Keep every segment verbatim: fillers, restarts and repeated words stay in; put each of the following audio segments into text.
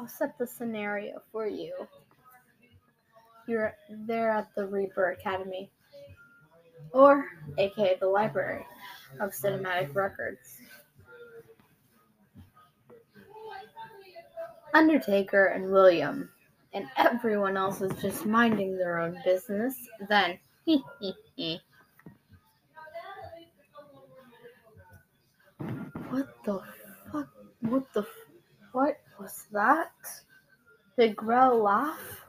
I'll set the scenario for you. You're there at the Reaper Academy, or aka the Library of Cinematic Records. Undertaker and William and everyone else is just minding their own business. Then, what the fuck? What the? What was that? Did Grell laugh?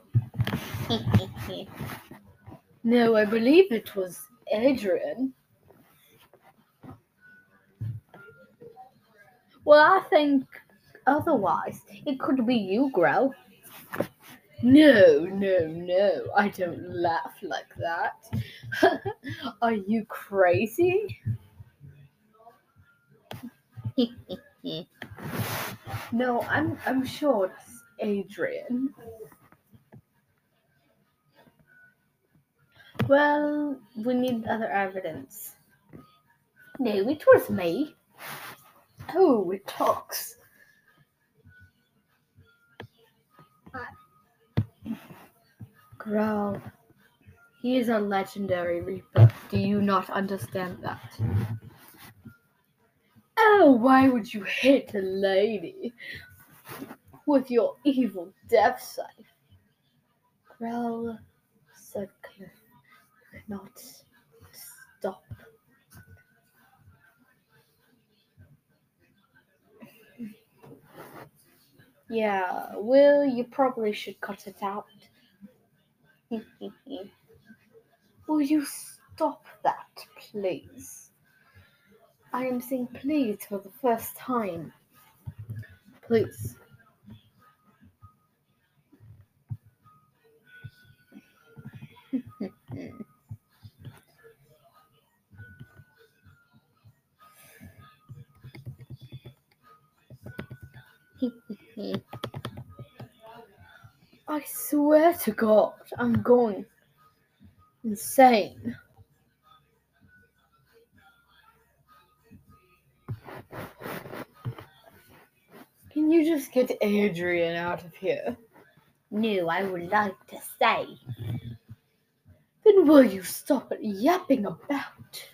No, I believe it was Adrian. Well, I think otherwise. It could be you, Grell. No, no, no. I don't laugh like that. Are you crazy? No, I'm I'm sure it's Adrian. Well, we need other evidence. No, it was me. Oh, it talks. Growl. He is a legendary Reaper. Do you not understand that? Oh, why would you hit a lady with your evil death scythe? Growl, said Cliff. Not stop. Yeah, well, you probably should cut it out. Will you stop that, please? I am saying please for the first time. Please. I swear to God, I'm going insane. Can you just get Adrian out of here? No, I would like to stay. Then will you stop yapping about?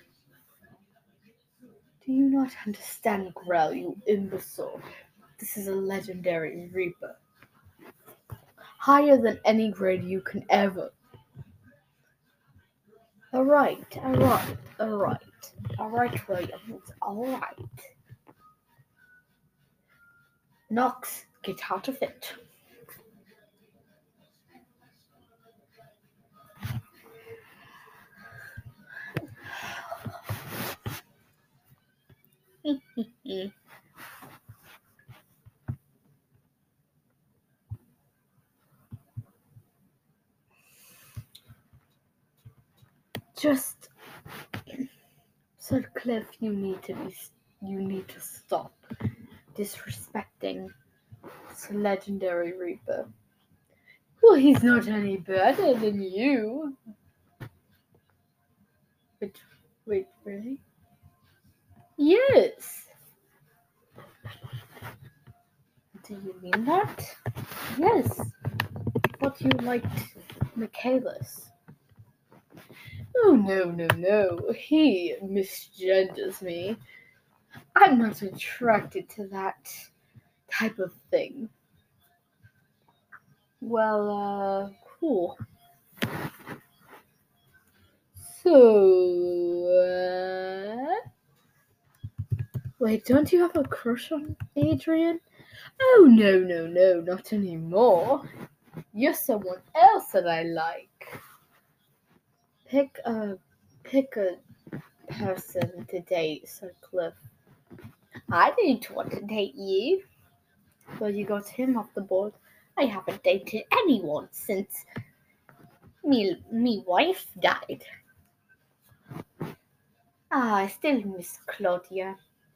Do you not understand, Grell, you imbecile? This is a legendary Reaper. Higher than any grade you can ever. Alright, alright, alright. Alright, William, it's alright. Knox, get out of it. Just said Cliff, you need to be, you need to stop disrespecting this legendary Reaper. Well, he's not any better than you. Wait, wait, really? Yes. Do you mean that? Yes. But you liked Michaelis. Oh, no, no, no. He misgenders me. I'm not attracted to that type of thing. Well, uh, cool. So, uh... Wait, don't you have a crush on Adrian? Oh, no, no, no, not anymore. You're someone else that I like. Pick a, pick a person to date, said Cliff. I didn't want to date you. Well, you got him off the board. I haven't dated anyone since me, me wife died. Ah, I still miss Claudia.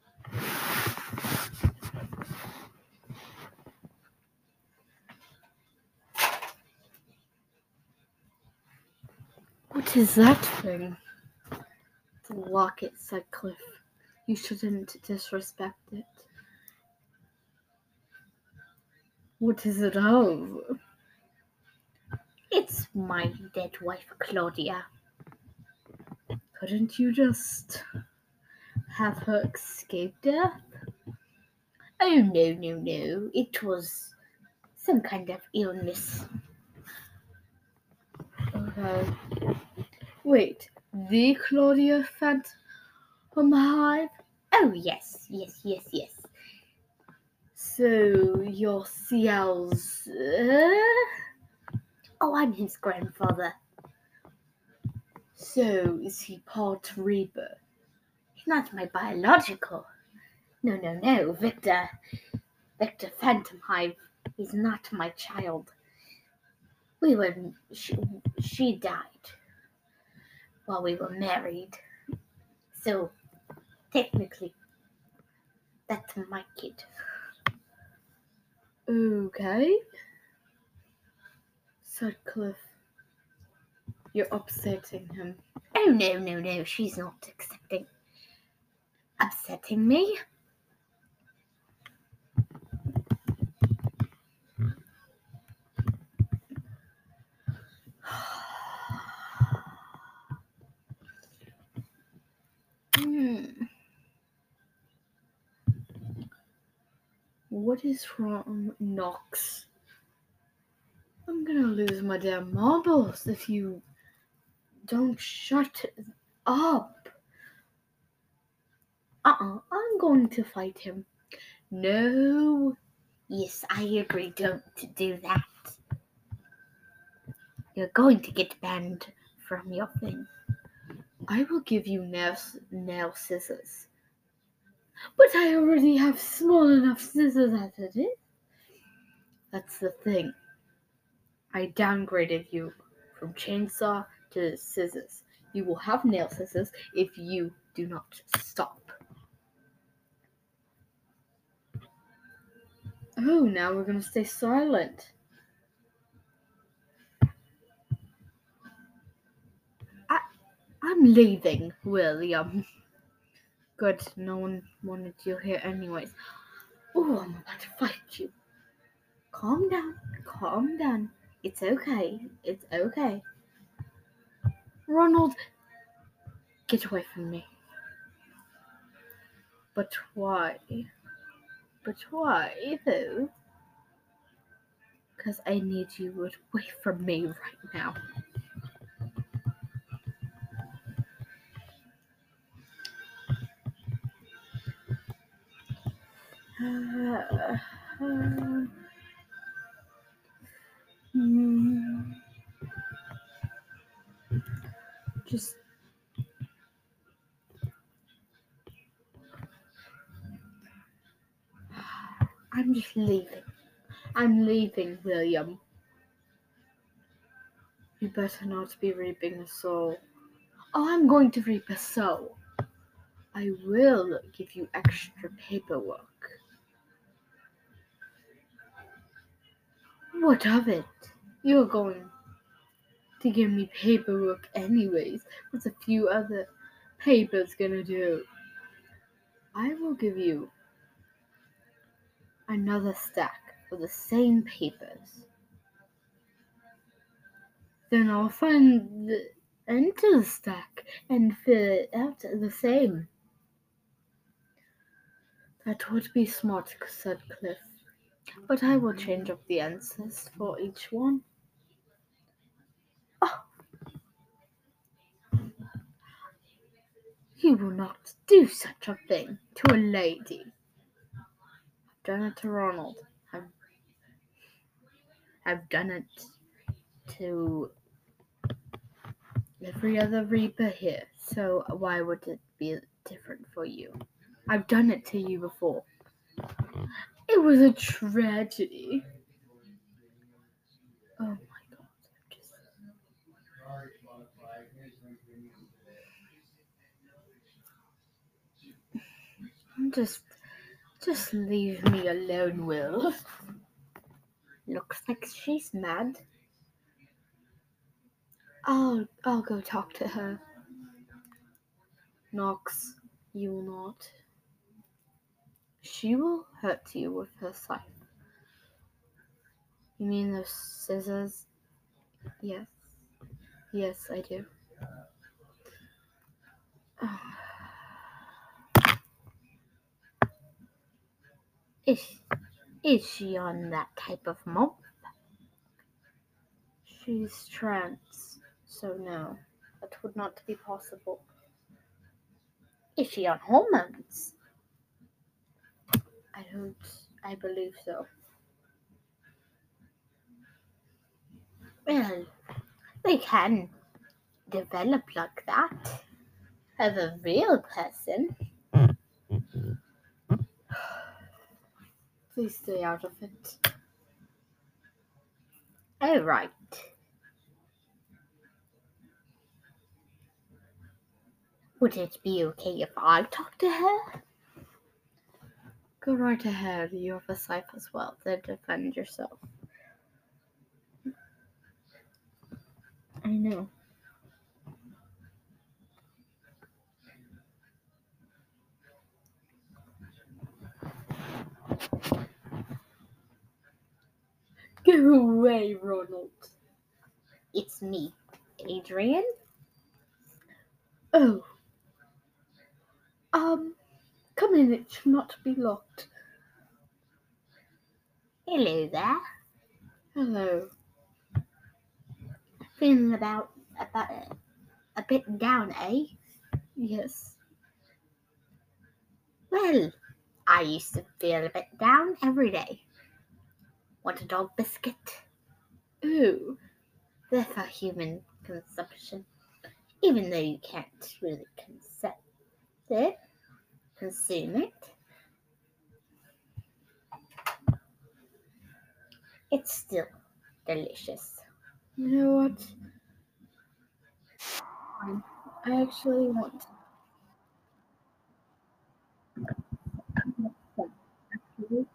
What is that thing? It's a locket, said Cliff. You shouldn't disrespect it. What is it of? It's my dead wife, Claudia. Couldn't you just have her escape death? Oh, no, no, no. It was some kind of illness. Okay. Wait, the Claudia Phantom Hive? Oh, yes, yes, yes, yes. So, you're Ciel's... Uh? Oh, I'm his grandfather. So, is he part Reaper? He's not my biological. No, no, no, Victor. Victor Phantom Hive. He's not my child. We were... She, she died while we were married. So, technically, that's my kid. Okay. Sutcliffe, you're upsetting him. Oh, no, no, no. She's not accepting. Upsetting me? Hmm. What is wrong, Knox? I'm gonna lose my damn marbles if you don't shut up. Uh-uh, I'm going to fight him. No. Yes, I agree. Don't do that. You're going to get banned from your thing. I will give you nail, nail scissors. But I already have small enough scissors as it is. That's the thing. I downgraded you from chainsaw to scissors. You will have nail scissors if you do not stop. Oh, now we're gonna stay silent. I, I'm leaving, William. Good, no one wanted you here anyways. Oh, I'm about to fight you. Calm down, calm down. It's okay, it's okay. Ronald, get away from me. But why? But why, though? Because I need you away from me right now. Uh, uh, hmm. Just I'm just leaving. I'm leaving, William. You better not be reaping a soul. Oh, I'm going to reap a soul. I will give you extra paperwork. What of it? You're going to give me paperwork anyways. What's a few other papers gonna do? I will give you another stack of the same papers. Then I'll find the enter the stack and fill it out the same. That would be smart, said Cliff. But I will change up the answers for each one. Oh, you will not do such a thing to a lady. I've done it to Ronald. I've, I've done it to every other Reaper here. So why would it be different for you? I've done it to you before. It was a tragedy. Oh my god. Just... Just just leave me alone, Will. Looks like she's mad. I'll I'll go talk to her. Knox, you will not. She will hurt you with her scythe. You mean those scissors? Yes. Yes, I do. Is, is she on that type of month? She's trans, so no, that would not be possible. Is she on hormones? I don't, I believe so. Well, they can develop like that as a real person. Please stay out of it. Oh, right. Would it be okay if I talk to her? Go right ahead, you have a knife as well, then defend yourself. I know. Go away, Ronald. It's me, Adrian. Oh. Um, come in, it should not be locked. Hello there. Hello. Feeling about about a bit down, eh? Yes. Well, I used to feel a bit down every day. Want a dog biscuit? Ooh. They're for human consumption, even though you can't really consume it. Consume it. It's still delicious. You know what? Fine. I actually want to. Actually.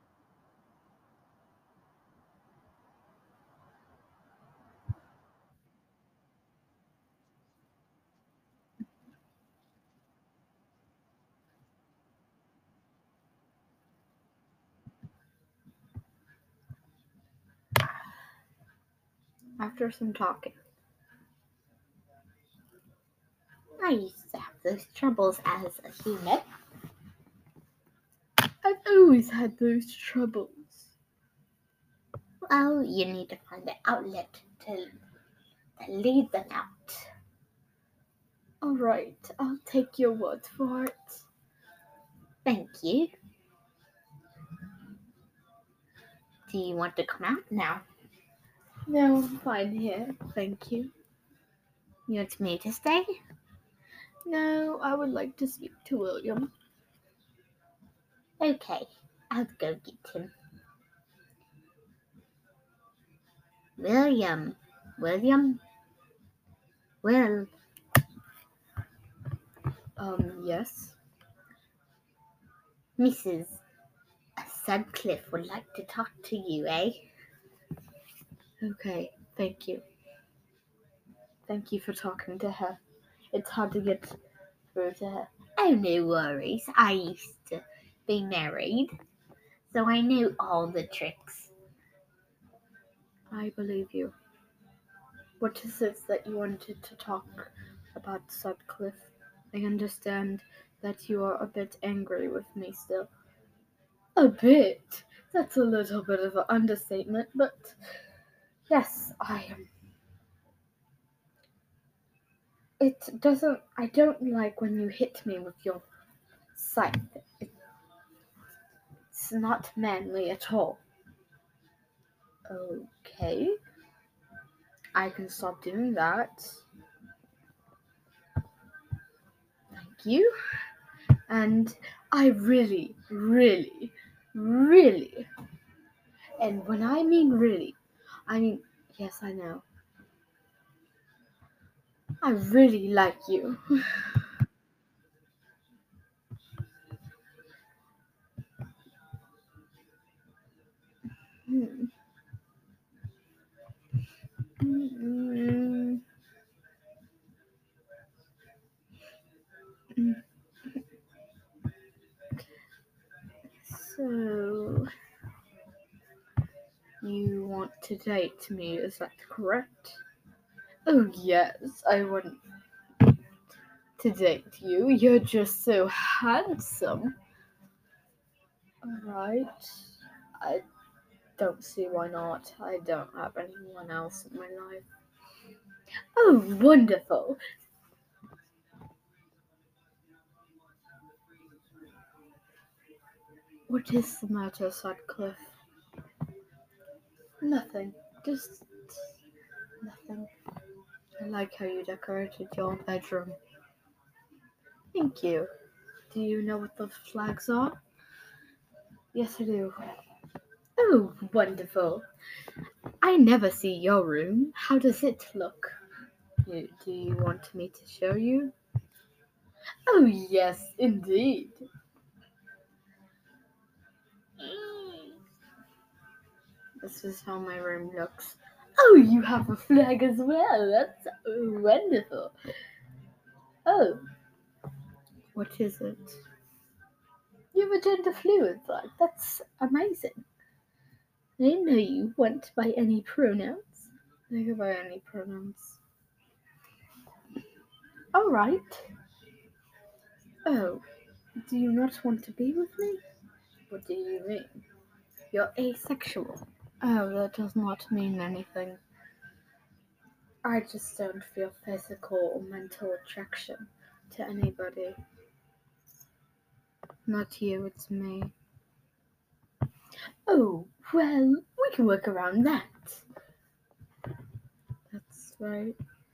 After some talking. I used to have those troubles as a human. I've always had those troubles. Well, you need to find an outlet to, to lead them out. Alright, I'll take your word for it. Thank you. Do you want to come out now? No, I'm fine here. Thank you. You want me to stay? No, I would like to speak to William. Okay, I'll go get him. William. William? Will. Um, yes. Missus Sutcliffe would like to talk to you, eh? Okay, thank you. Thank you for talking to her. It's hard to get through to her. Oh, no worries. I used to be married, so I knew all the tricks. I believe you. What is it that you wanted to talk about, Sutcliffe? I understand that you are a bit angry with me still. A bit? That's a little bit of an understatement, but yes, I am. It doesn't. I don't like when you hit me with your scythe. It's not manly at all. Okay. I can stop doing that. Thank you. And I really, really, really, and when I mean really, I mean, yes, I know. I really like you. Hmm. Mm, mm. So, You want to date me, is that correct? Oh, yes, I want to date you. You're just so handsome. Alright. I don't see why not. I don't have anyone else in my life. Oh, wonderful. What is the matter, Sutcliffe? Nothing. Just nothing. I like how you decorated your bedroom. Thank you. Do you know what the flags are? Yes, I do. Oh, wonderful. I never see your room. How does it look? You, do you want me to show you? Oh, yes, indeed. This is how my room looks. Oh, you have a flag as well. That's wonderful. Oh, what is it? You have a gender fluid flag. That's amazing. I didn't know you went by any pronouns. I go by any pronouns. All right. Oh, do you not want to be with me? What do you mean? You're asexual. Oh, that does not mean anything. I just don't feel physical or mental attraction to anybody. Not you, it's me. Oh, well, we can work around that. That's right.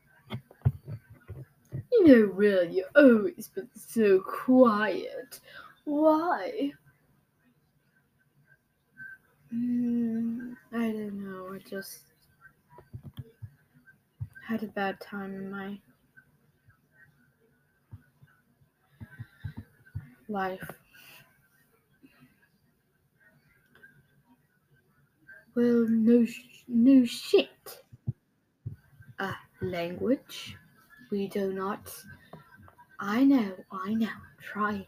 You know, Will, you've always been so quiet. Why? Mm, I don't know. I just had a bad time in my life. Well, no, sh- no shit. Ah, language. We do not. I know, I know. Try.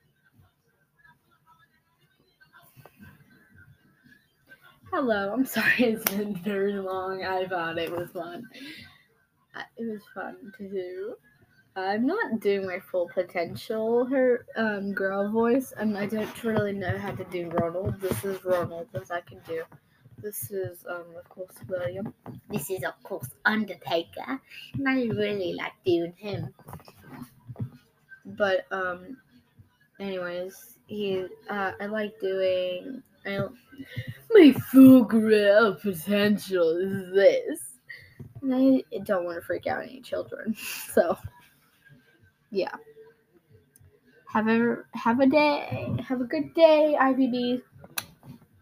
Hello, I'm sorry it's been very long. I thought it was fun. Uh, It was fun to do. I'm not doing my full potential her um girl voice, and I don't really know how to do Ronald. This is Ronald that I can do. This is um of course William. This is, of course, Undertaker, and I really like doing him. But um anyways, he uh I like doing I my full girl potential is this. And I don't want to freak out any children. So yeah. Have a have a day. Have a good day, I V Bs.